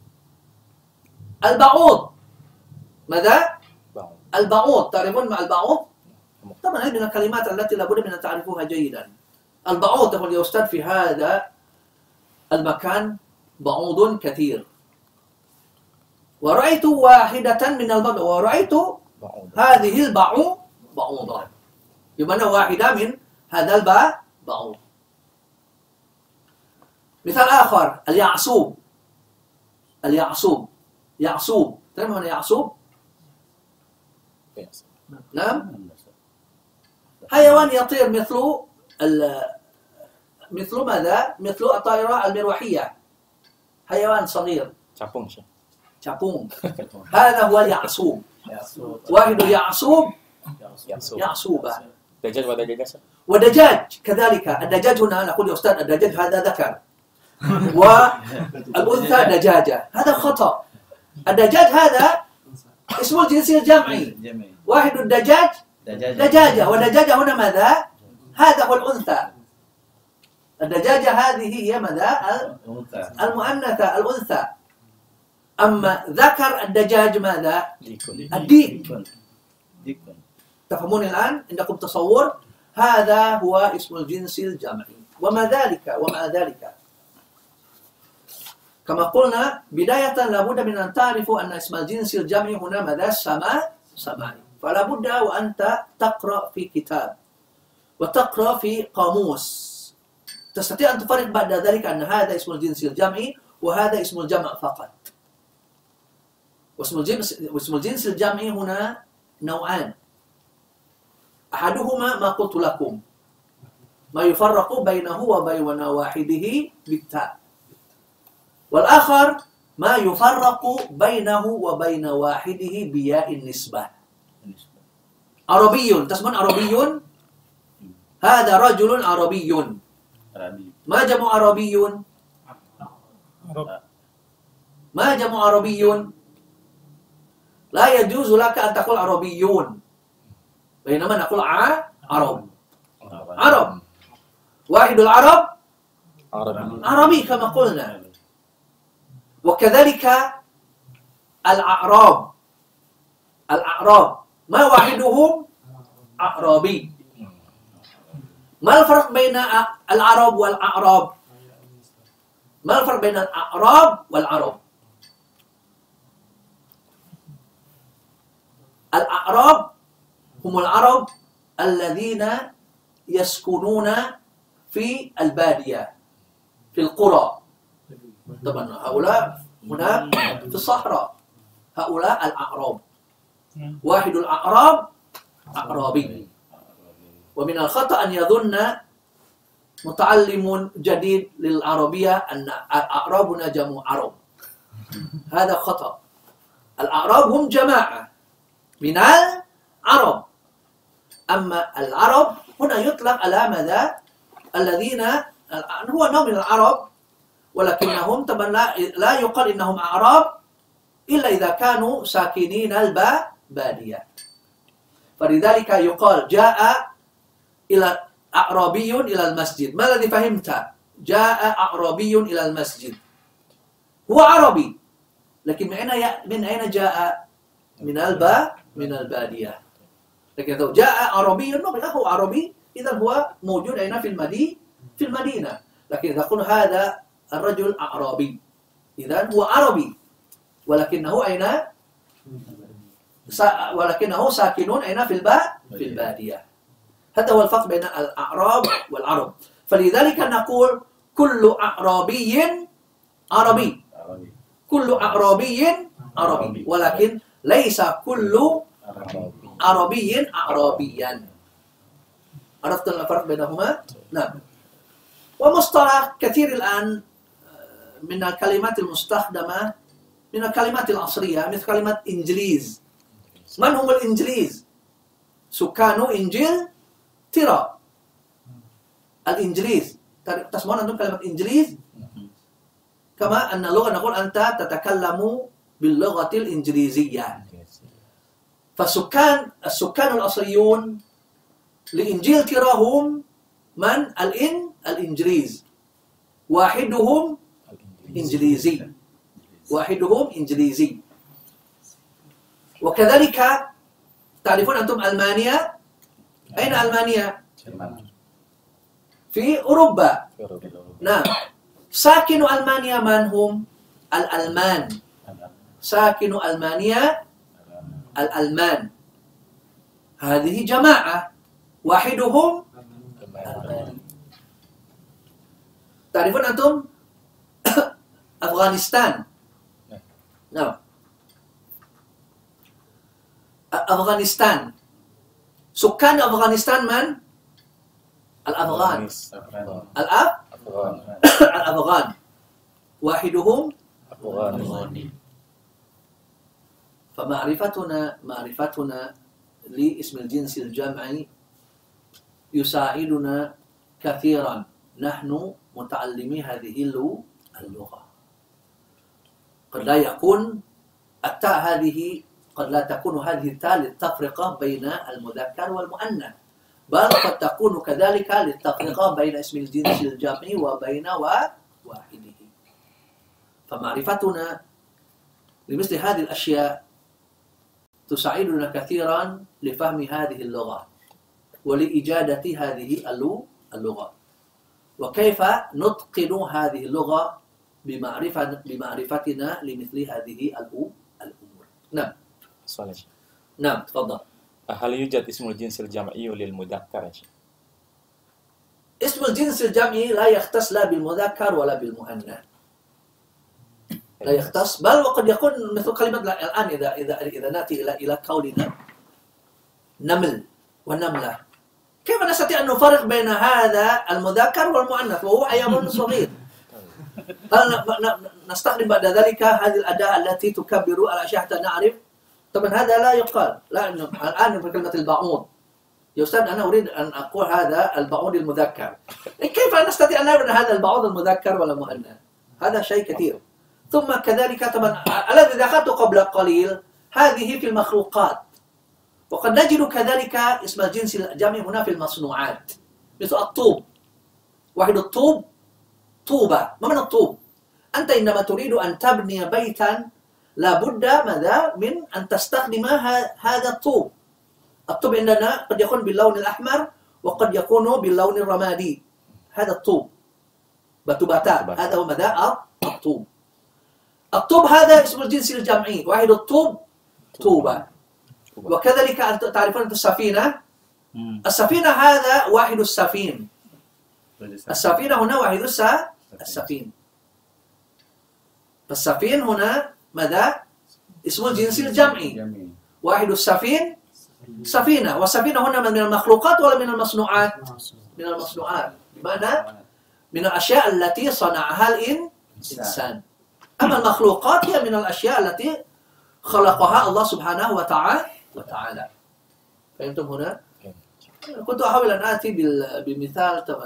البعوض. ماذا؟ البعوض. تعرفون مع البعوض؟ طبعا هذه من الكلمات التي لابد من أن تعرفوها جيدا. البعوض تقول يا أستاذ في هذا المكان بعوض كثير، ورأيت واحدة من البعوض، ورأيت هذه بعوضة، بمعنى واحدة من هذا البعوض. مثال آخر اليعصوب. يعصوب تعرفون من يعصوب؟ نعم. حيوان يطير مثل ماذا؟ مثل الطائرة المروحية، حيوان صغير. capung. هذا هو اليعصوب. واحد يعصوب يعصوبة. دجاج ودجاجة. ودجاج كذلك. الدجاج هنا نقول يا أستاذ الدجاج هذا ذكر، والأنثى دجاجة، هذا خطأ. الدجاج هذا اسم الجنس الجمعي. واحد الدجاج دجاجة، والدجاجة هنا ماذا؟ هذا هو الأنثى. الدجاجة هذه هي ماذا؟ المؤنثة الأنثى. أما ذكر الدجاج ماذا؟ الديك. تفهمون الآن؟ عندكم تصور؟ هذا هو اسم الجنس الجمعي. ومع ذلك كما قلنا بداية لابد من أن تعرفوا أن اسم الجنس الجمعي هنا ماذا؟ سماعي. فلا بد وأنت تقرأ في كتاب وتقرأ في قاموس تستطيع أن تفرق بعد ذلك أن هذا اسم الجنس الجمعي وهذا اسم الجمع فقط. واسم الجنس الجمعي هنا نوعان، أحدهما ما قلت لكم ما يفرق بينه وبين واحده بالتاء، والآخر ما يفرق بينه وبين واحده بياء النسبة. عربي، تسمون عربي؟ هذا رجل عربي. ما جمع عربي؟ ما جمع عربي؟ لا يجوز لك أن تقول عربيون، بينما نقول عرب. واحد العرب عربي كما قلنا. وكذلك الأعراب ما واحدهم أعرابي. ما الفرق بين العرب والأعراب؟ ما الفرق بين الأعراب والعرب؟ الأعراب هم العرب الذين يسكنون في البادية في القرى. طبعا هؤلاء هناك في الصحراء، هؤلاء الأعراب. واحد الأعراب أعرابي. ومن الخطأ أن يظن متعلم جديد للعربية أن أعرابنا جمع عرب. هذا خطأ. الأعراب هم جماعة من العرب. أما العرب هنا يطلق على ماذا؟ الذين هو نوع من العرب، ولكنهم طبعا لا يقال إنهم أعراب إلا إذا كانوا ساكنين البادية. فلذلك يقال جاء إلى أعرابي إلى المسجد. ما الذي فهمت؟ جاء أعرابي إلى المسجد، هو عربي، لكن من أين جاء؟ من البادية. لكن لو جاء عربي هو عربي، إذا هو موجود أين؟ في المدينة. لكن إذا قلنا هذا الرجل أعرابي، إذا هو عربي، ولكنه أين؟ ولكنه ساكنون أين؟ في البادية. هذا هو الفرق بين الأعراب والعرب. فلذلك نقول كل أعرابي عربي، كل أعرابي عربي، ولكن ليس كل عربي أعرابيا. عرفت الفرق بينهما؟ نعم. ومصطلح كثير الآن من الكلمات المستخدمة من الكلمات العصرية مثل كلمة إنجليز. من هم الإنجليز؟ سكان إنجلترا. الإنجليز تسمعون أنتم كلمة إنجليز؟ كما أن اللغة نقول أنت تتكلم باللغة الإنجليزية. السكان الأصليون لإنجلترا هم من؟ الإنجليز. واحدهم إنجليزي، واحدهم إنجليزي. وكذلك تعرفون أنتم ألمانيا؟ أين ألمانيا؟ في أوروبا. نعم. ساكن ألمانيا من هم؟ الألمان. ساكن ألمانيا الألمان. هذه جماعة، واحدهم ألماني. تعرفون أنتم أفغانستان؟ نعم. أفغانستان، سكان أفغانستان من؟ الأفغان. الأفغان، واحدهم أفغاني. فمعرفتنا لاسم الجنس الجمعي يساعدنا كثيرا نحن متعلمي هذه اللغة. قد لا يكون التاء هذه، قد لا تكون هذه التاء للتفرقة بين المذكر والمؤنث، بل قد تكون كذلك للتفرقة بين اسم الجنس الجمعي وبين واحده. فمعرفتنا لمثل هذه الأشياء تساعدنا كثيرا لفهم هذه اللغة ولإجادة هذه اللغة، وكيف نتقن هذه اللغة بمعرفتنا لمثل هذه الأمور. نعم. صالح. نعم، تفضل. هل يوجد اسم الجنس الجمعي للمذكر؟ اسم الجنس الجمعي لا يختص لا بالمذكر ولا بالمؤنث، لا يختص، بل وقد يكون مثل كلمة الآن إذا نأتي إلى قولنا نمل ونملة، كيف نستطيع أن نفرق بين هذا المذكر والمؤنث وهو حيوان صغير؟ هل نستخدم بعد ذلك هذه الأداة التي تكبر الأشياء حتى نعرف؟ طبعا هذا لا يقال. لا، الآن في كلمة البعوض، يا أستاذ أنا أريد أن أقول هذا البعوض المذكر، كيف نستطيع أن نعرف هذا البعوض المذكر ولا مؤنث؟ هذا شيء كثير. ثم كذلك طبعا الذي ذكرت قبل قليل هذه في المخلوقات، وقد نجد كذلك اسم الجنس الجمعي هنا في المصنوعات مثل الطوب. واحد الطوب طوبة. ما معنى الطوب؟ أنت إنما تريد أن تبني بيتا لابد ماذا؟ من أن تستخدم هذا الطوب. الطوب عندنا قد يكون باللون الأحمر وقد يكون باللون الرمادي. هذا الطوب، batu bata. هذا هو ماذا؟ الطوب. الطوب هذا اسم الجنس الجمعي. واحد الطوب طوبة. وكذلك تعرفون السفينة. السفينة هذا واحد السفين. السفينة هنا واحد السفين. فالسفين هنا ماذا؟ اسم الجنس الجمعي. واحد السفين سفينة. والسفينة هنا من المخلوقات ولا من المصنوعات؟ من المصنوعات، بمعنى من الأشياء التي صنعها الإنسان. أما المخلوقات هي من الأشياء التي خلقها الله سبحانه وتعالى. فهمتم هنا؟ كنت أحاول أن آتي بمثال طبعا،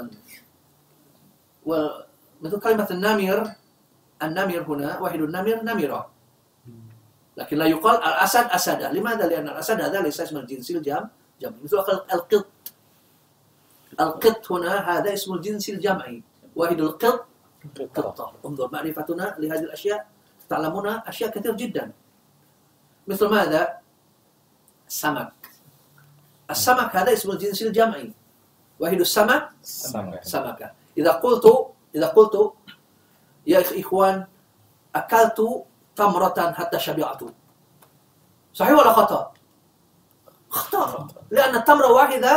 ومثل كلمة النمر. النمر هنا واحد النمر نمرة، لكن لا يقال الأسد أسدة. لماذا؟ لأن الأسد هذا ليس اسم الجنس الجمعي. مثل القط. القط هنا هذا اسم الجنس الجمعي. واحد القط قطة. انظر معرفتنا لهذه الأشياء، تعلمون أشياء كثير جدا. مثل ماذا؟ السمك. السمك هذا اسم الجنس الجمعي. واحد السمك سمكة. إذا قلت يا إخوان أكلت تمرة حتى شبعت، صحيح ولا خطأ؟ خطأ، لأن التمرة واحدة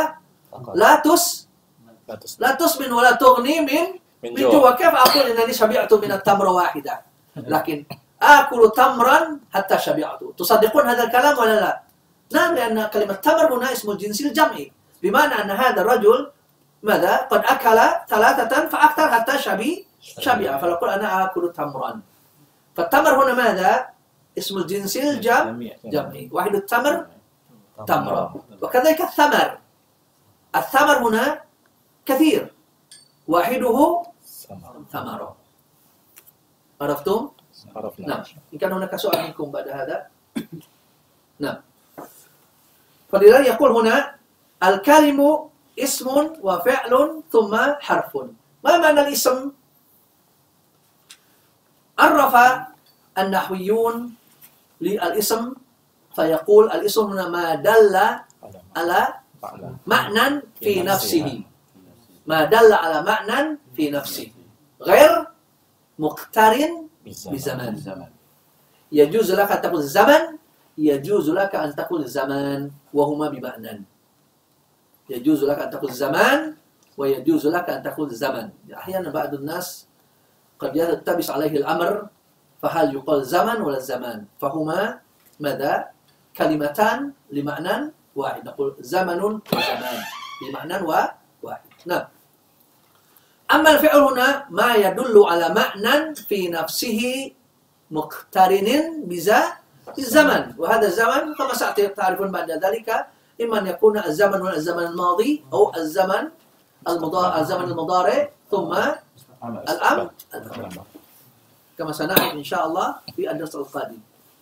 لا تسمن ولا تغني من جوع. كيف أقول إنني شبعت من التمرة واحدة؟ لكن آكل تمرا حتى شبعت. تصدقون هذا الكلام ولا لا؟ نعم، لأن كلمة تمر هنا اسم الجنس الجمعي، بمعنى أن هذا الرجل ماذا؟ قد أكل 3 فأكثر حتى شبع، فنقول أنا آكل تمرا. فالتمر هنا ماذا؟ اسم الجنس الجمعي. واحد التمر تمرة. وكذلك الثمر. الثمر هنا كثير، واحده ثمرة. عرفتم؟ عرفنا. نعم. إن كان هناك سؤال منكم بعد هذا. نعم. فلذلك يقول هنا الكلم اسم وفعل ثم حرف. ما معنى الاسم؟ عرف النحويون للاسم فيقول الاسم هنا ما دل على معنى في نفسه. ما دل على معنى في نفسه غير مقترن بزمان. يجوز لك أن تقول زمن، يجوز لك أن تقول زمان، وهما بمعنى. يجوز لك أن تقول زمان ويجوز لك أن تقول زمن. أحيانا بعض الناس قد يلتبس عليه الأمر، فهل يقال زمن ولا زمان؟ فهما ماذا؟ كلمتان لمعنى واحد. نقول زمن وزمان بمعنى واحد. نعم. أما الفعل هنا ما يدل على معنى في نفسه مقترن بالزمن، وهذا الزمن كما ستعرفون بعد ذلك إما أن يكون الزمن هنا الزمن الماضي أو الزمن المضارع ثم الأمر كما سنعرف إن شاء الله في الدرس القادم.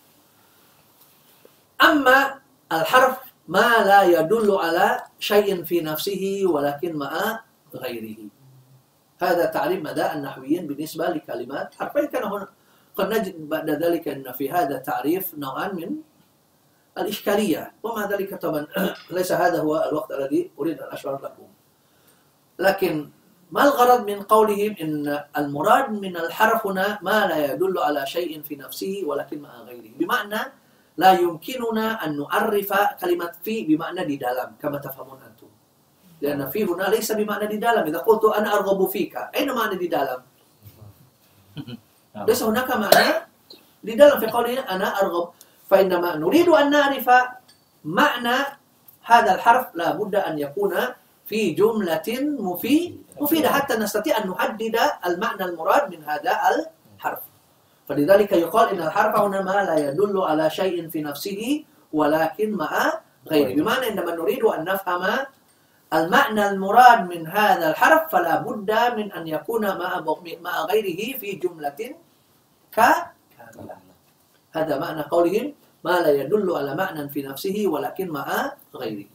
أما الحرف ما لا يدل على شيء في نفسه ولكن مع غيره. هذا تعريف مدى النحويين بالنسبة لكلمات حرفين. كان هنا قد نجد بعد ذلك أن في هذا التعريف نوعا من الإشكالية، ومع ذلك طبعا ليس هذا هو الوقت الذي أريد أن أشرح لكم. لكن ما الغرض من قولهم إن المراد من الحرف هنا ما لا يدل على شيء في نفسه ولكن مع غيره، بمعنى لا يمكننا أن نعرف كلمة في بمعنى di dalam كما تفهمون أنتم، لأن في هنا ليس بمعنى di dalam. إذا قلت أنا أرغب فيك، أين معنى di dalam؟ ليس هناك معنى di dalam في قولنا أنا أرغب. فإنما نريد أن نعرف معنى هذا الحرف لا بد أن يكون في جملة مفيدة حتى نستطيع أن نحدد المعنى المراد من هذا الحرف. فلذلك يقال إن الحرف هنا ما لا يدل على شيء في نفسه ولكن مع غيره، بمعنى عندما نريد أن نفهم المعنى المراد من هذا الحرف فلا بد من أن يكون مع غيره في جملة كاملة. هذا معنى قولهم ما لا يدل على معنى في نفسه ولكن مع غيره.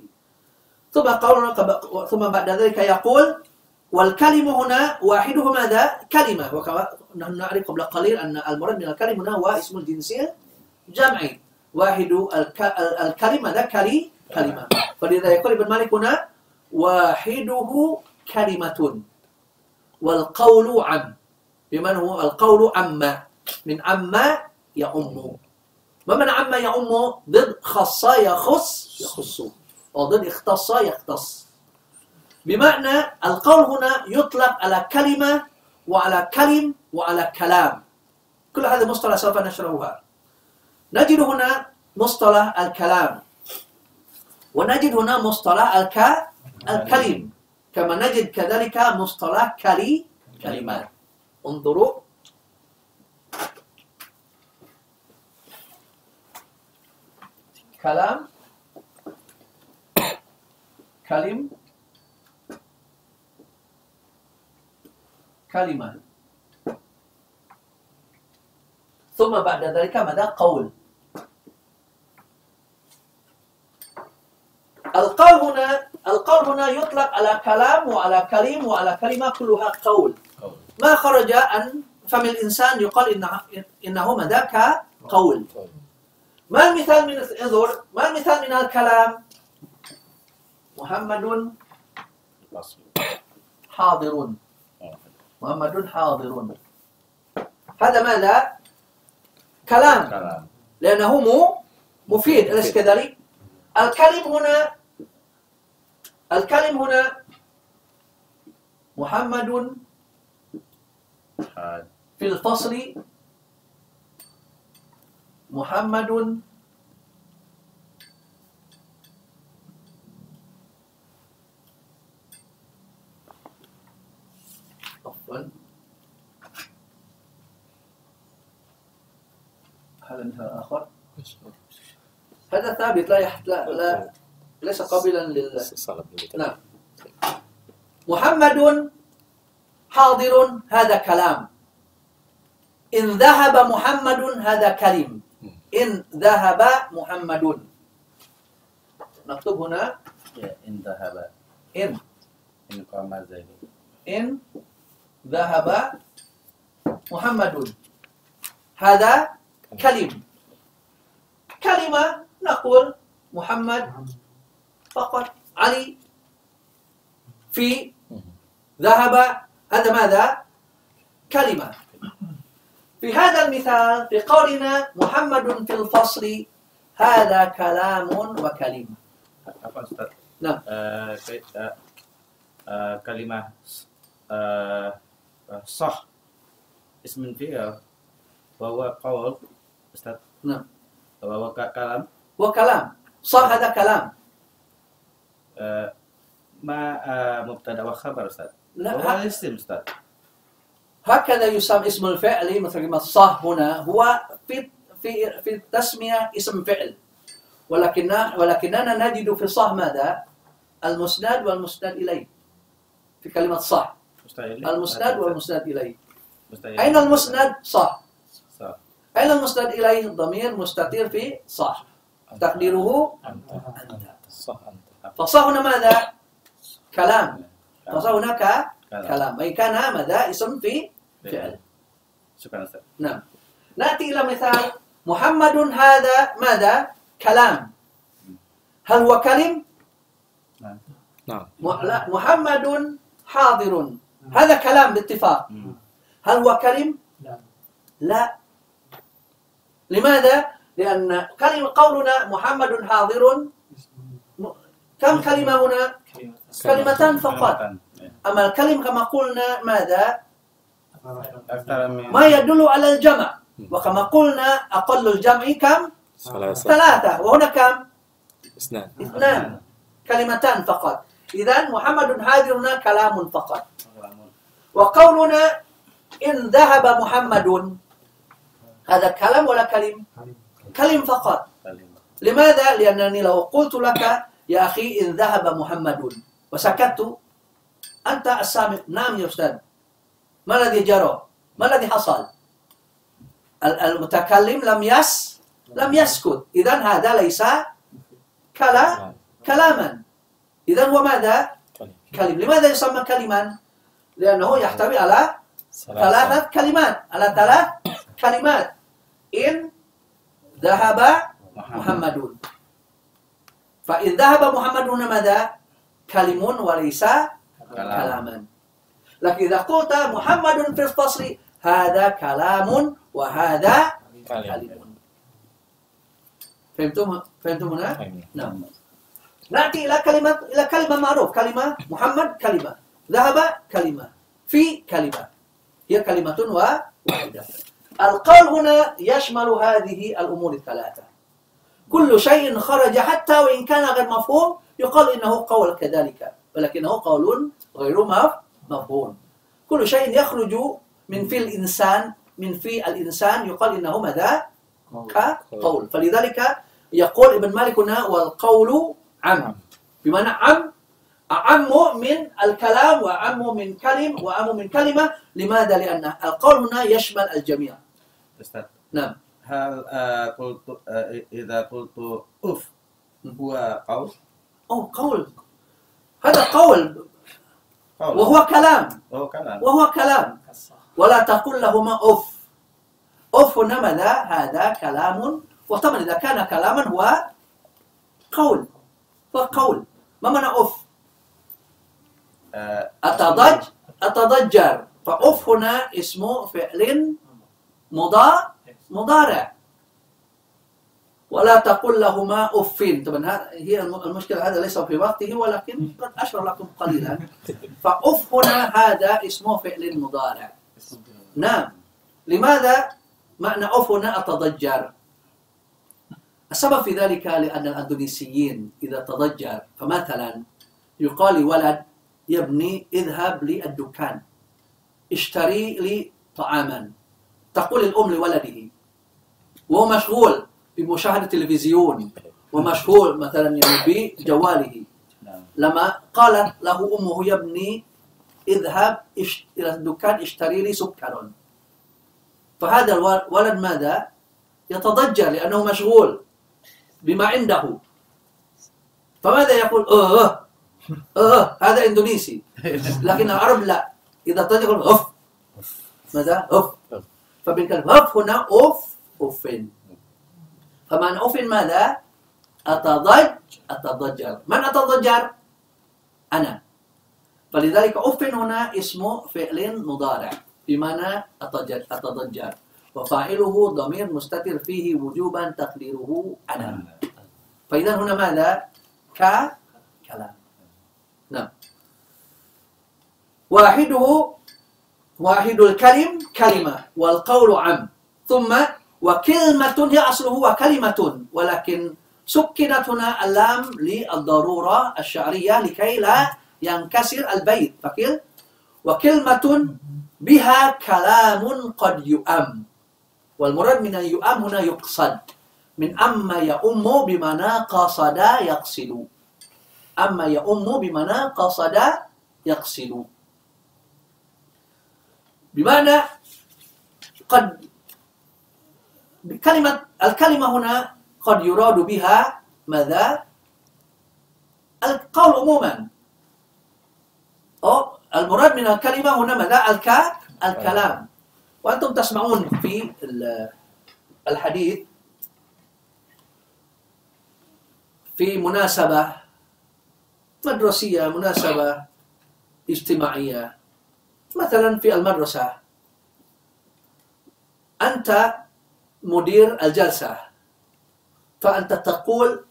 ثم بعد ذلك يقول والكلمة هنا واحده ماذا؟ كلمة. وكما نحن نعرف قبل قليل أن المراد من الكلمة هنا هو اسم الجنس الجمعي. واحد الكلمة ذا كلمة. فلذا يقول ابن مالك هنا wahiduhu kalimatun wal qawlu am. Bimana huwa al qawlu amma min amma ya ummu. ما معنى عما يعم ضد خص يخص وضد اختص يختص. بمعنى القول هنا يطلق على كلمة وعلى كلم وعلى كلام. كل هذه مصطلح سوف نشرحها. نجد هنا مصطلح الكلام ونجد هنا مصطلح الكلم كما نجد كذلك مصطلح كلمات. انظروا كلام كلم كلمة ثم بعد ذلك ماذا قول. القول هنا يطلق على كلام وعلى كلم وعلى كلمة كلها قول. ما خرج عن فم الإنسان يقال إنه ماذا كقول. ما المثال من انظر ما المثال من الكلام؟ محمد حاضر. محمد حاضر. هذا ماذا؟ كلام لأنه مفيد أليس كذلك؟ الكلم هنا محمد في الفصل محمد عفوا هذا مثال آخر. هذا ثابت لا ليس قابلا نعم. محمد حاضر هذا كلام. إن ذهب محمد هذا كلم. إن ذهب محمد نكتب هنا إن ذهب إن قام زيد إن ذهب محمد هذا كلم. كلمة نقول محمد فقط. علي في ذهب هذا ماذا؟ كلمة. في هذا المثال في قولنا محمد في الفصل هذا كلام وكلمة. Apa Ustaz? Nah. Kalimah sah ismin fi'il bahwa qaul Ustaz. Nah. Bahwa kalam. وكلام صح هذا كلام. ما مبتدا وخبر Ustaz. لا هو اسم Ustaz. هكذا يسمى اسم الفعل مثل ما صح هنا هو في التسمية اسم فعل ولكننا نجد في صح ماذا؟ المسند والمسند إليه في كلمة صح. المسند والمسند إليه. أين المسند؟ صح. أين المسند إليه؟ ضمير مستتر في صح تقديره أنت. فصح هنا ماذا؟ كلام. فصح هناك كلام أي كان ماذا؟ اسم في فعل. شكرا أستاذ. نعم. نأتي إلى مثال محمد هذا ماذا؟ كلام. هل هو كلم؟ نعم. لا محمد حاضر هذا كلام باتفاق. هل هو كلم؟ لا. لماذا؟ لأن قولنا محمد حاضر كم كلمة هنا؟ كلمتان فقط. أما الكلم كما قلنا ماذا؟ ما يدل على الجمع. وكما قلنا أقل الجمع كم؟ ثلاثة. وهنا كم؟ اثنان. كلمتان فقط. إذن محمد حاضرنا كلام فقط. وقولنا إن ذهب محمد هذا كلام ولا كلم؟ كلم فقط. لماذا؟ لأنني لو قلت لك يا أخي إن ذهب محمد وسكت أنت السامع نعم يا أستاذ ما الذي جرى؟ ما الذي حصل؟ المتكلم لم يسكت. إذن هذا ليس كلاما. إذن هو ماذا؟ كلم. لماذا يسمى كلما؟ لأنه يحتوي على ثلاث كلمات. إن ذهب محمد. فإن ذهب محمد هنا ماذا؟ kalimun walaysa kalaman. Lakin idza qulta Muhammadun fil fasli hadza kalamun wa hadza kalimun. Fahimtum huna? Naam. Na'ti ila kalimah ma'ruf, kalimah Muhammad kalimah, dhahaba kalimah, fi kalimah. Hiya kalimatun wahidah. القول هنا يشمل هذه الأمور الثلاثة. كل شيء خرج حتى وإن كان غير مفهوم يقال إنه قول كذلك، ولكنه قول غير مفهوم. كل شيء يخرج من في الإنسان يقال إنه ماذا؟ كقول. فلذلك يقول ابن مالك هنا والقول عام، بمعنى أعم من الكلام وأعم من كلمة. لماذا؟ لأن القول هنا يشمل الجميع. Ustaz, نعم. hal إذا قلت أف هو قول؟ قول. هذا قول وهو كلام. ولا تقل لهما أف. أف هنا ماذا؟ هذا كلام. وطبعا إذا كان كلاما هو قول. ما معنى أف؟ أتضجر. فأف هنا اسمه فعل مضارع. ولا تقل لهما أف. طبعا هي المشكلة، هذا ليس في وقته ولكن قد أشرح لكم قليلا. فأف هنا هذا اسمه فعل مضارع. نعم. لماذا معنى أف هنا أتضجر؟ السبب في ذلك لأن الأندونيسيين إذا تضجر، فمثلا يقال لولد يا ابني اذهب للدكان اشتري لي طعاما، تقول الأم لولده وهو مشغول بمشاهدة التلفزيون ومشغول مثلا بجواله، لما قالت له أمه يا ابني اذهب إلى الدكان اشتري لي سكر، فهذا الولد ماذا؟ يتضجر لأنه مشغول بما عنده. فماذا يقول؟ هذا إندونيسي. لكن العرب لا، إذا تضجر يقول أف. ماذا؟ أف. فبالكلمة أف هنا أفين. فمعنى أفين ماذا؟ أتضجر. من أتضجر؟ أنا. فلذلك أفين هنا اسمه فعل مضارع بمعنى أتضجر، وفاعله ضمير مستتر فيه وجوبا تقديره أنا. فإذا هنا ماذا؟ كلام. نعم. واحد الكلم كلمة والقول عم. ثم وكلمة هي أصله وكلمة، ولكن سكنت هنا اللام للضرورة الشعرية لكي لا ينكسر البيت. فكل وكلمة بها كلام قد يؤم، والمراد من يؤم هنا يقصد، من أما يؤم بمعنى قصد يقصد. أما يؤم بمعنى قصد يقصد، بمعنى قد الكلمة هنا قد يراد بها ماذا؟ القول عموما. المراد من الكلمة هنا ماذا؟ الكلام. وأنتم تسمعون في الحديث في مناسبة مدرسية، مناسبة اجتماعية، مثلا في المدرسة أنت مدير الجلسة، فأنت تقول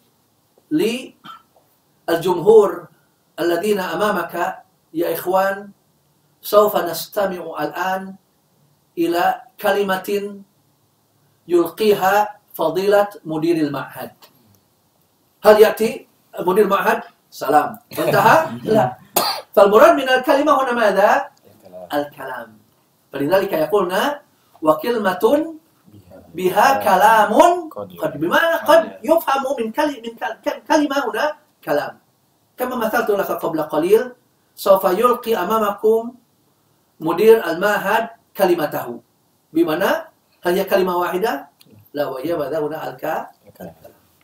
للجمهور الذين أمامك يا إخوان سوف نستمع الآن إلى كلمة يلقيها فضيلة مدير المعهد. هل يأتي مدير المعهد سلام انتهى؟ لا. فالمراد من الكلمة هنا ماذا؟ الكلام. فلذلك يقولنا وكلمة بها كلام قد، بمعنى قد يفهم من كلمة هنا كلام. كما مثلت لك قبل قليل، سوف يلقي أمامكم مدير المعهد كلمته، بمعنى هل هي كلمة واحدة؟ لا، وهي ماذا هنا الكلام.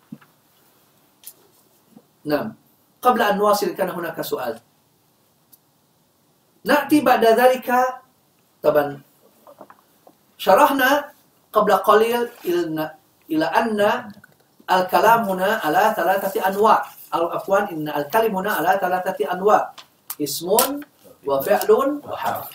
نعم. قبل أن نواصل كان هناك سؤال. نأتي بعد ذلك، طبعا شرحنا قبل قليل إلى أن الكلام هنا على 3 أنواع. afwan, inna al-kalim huna ala thalathati anwa, ismun wa fi'lun wa harf.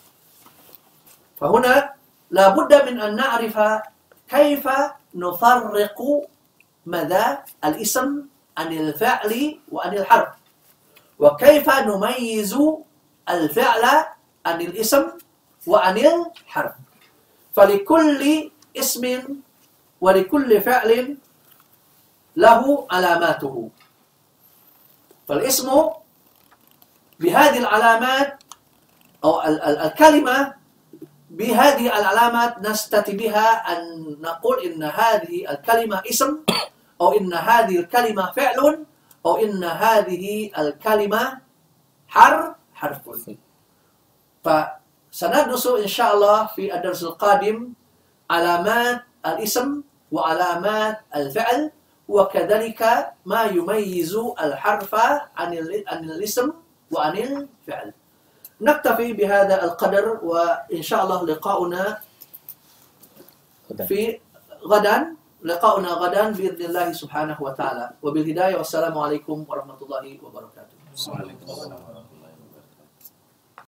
فهنا لا بد من أن نعرف كيف نفرق ماذا الاسم عن الفعل وعن الحرف، وكيف نميز الفعل عن الاسم وعن الحرف. فلكل اسم ولكل فعل له علاماته، فالاسم بهذه العلامات أو الكلمة بهذه العلامات نستطيع بها أن نقول إن هذه الكلمة اسم، أو إن هذه الكلمة فعل، أو إن هذه الكلمة حرف. فسندرس إن شاء الله في الدرس القادم علامات الاسم وعلامات الفعل، وكذلك ما يميز الحرف عن الاسم وعن الفعل. نكتفي بهذا القدر، وإن شاء الله لقاؤنا غدا بإذن الله سبحانه وتعالى. وبالهداية، والسلام عليكم ورحمة الله وبركاته.